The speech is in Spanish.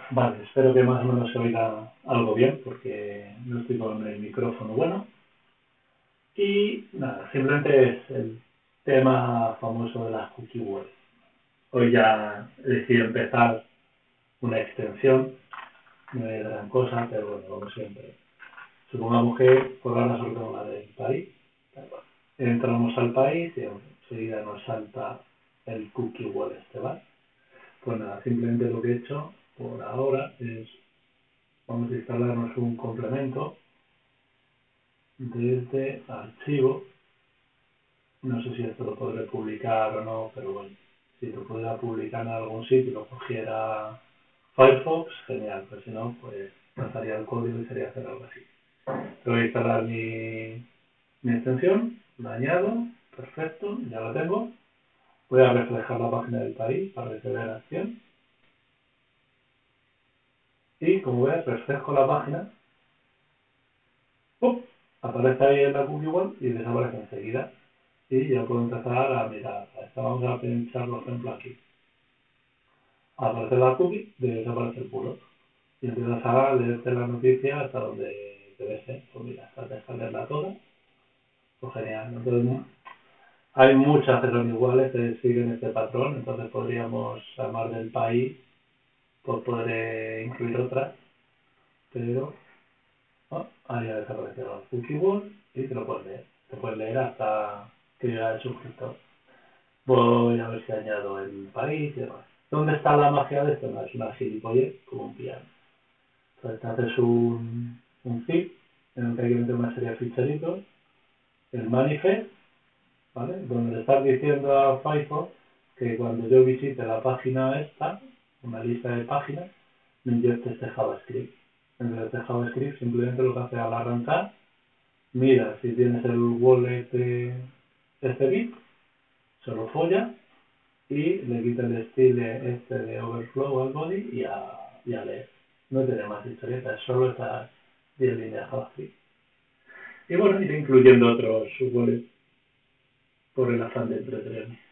Vale, espero que más o menos se oiga algo bien porque no estoy con el micrófono bueno. Y nada, simplemente es el tema famoso de las cookie walls. Hoy ya he decidido empezar una extensión, no es gran cosa, pero bueno, como siempre. Supongamos que por ahora solo tengo la del país. Entramos al país y enseguida nos salta el cookie wall este, ¿vale? Pues nada, simplemente lo que he hecho por ahora es, vamos a instalarnos un complemento desde archivo. No sé si esto lo podré publicar o no, pero bueno, si lo pudiera publicar en algún sitio y lo cogiera Firefox, genial, pero si no, pues lanzaría el código y sería hacer algo así. Voy a instalar mi extensión, la añado, perfecto, ya la tengo. Voy a reflejar la página del país para que se vea en acción. Y como ves, refresco la página, ¡pum! Aparece ahí en la cookie wall y desaparece enseguida. Y ya puedo empezar a mirar. Vamos a pinchar por ejemplo aquí. Aparece la cookie, desaparece el pulo. Y empiezas a leerte la noticia hasta donde te ves. Pues mira, hasta dejar leerla toda. Pues genial. Entonces, hay muchas que son iguales que siguen este patrón. Entonces podríamos llamar del país, pues podré incluir otras. Pero ahí ha desaparecido el cookie wall y te lo puedes leer. Te puedes leer hasta que llega el suscriptor. Voy a ver si añado el país y demás. ¿Dónde está la magia de esto? No, es una gilipollez como un piano. Entonces te haces un zip en el que hay que meter una serie de ficheritos, el manifest, ¿vale? Donde le estás diciendo a Firefox que cuando yo visite la página esta, una lista de páginas, me inyecte este JavaScript. Entonces este JavaScript simplemente lo que hace al arrancar, mira si tienes el wallet de este bit, se lo folla y le quita el estilo este de overflow al body y a leer. No tiene más historietas, solo estas 10 líneas JavaScript. Y bueno, iré incluyendo otros wallets por el afán de entretenerme.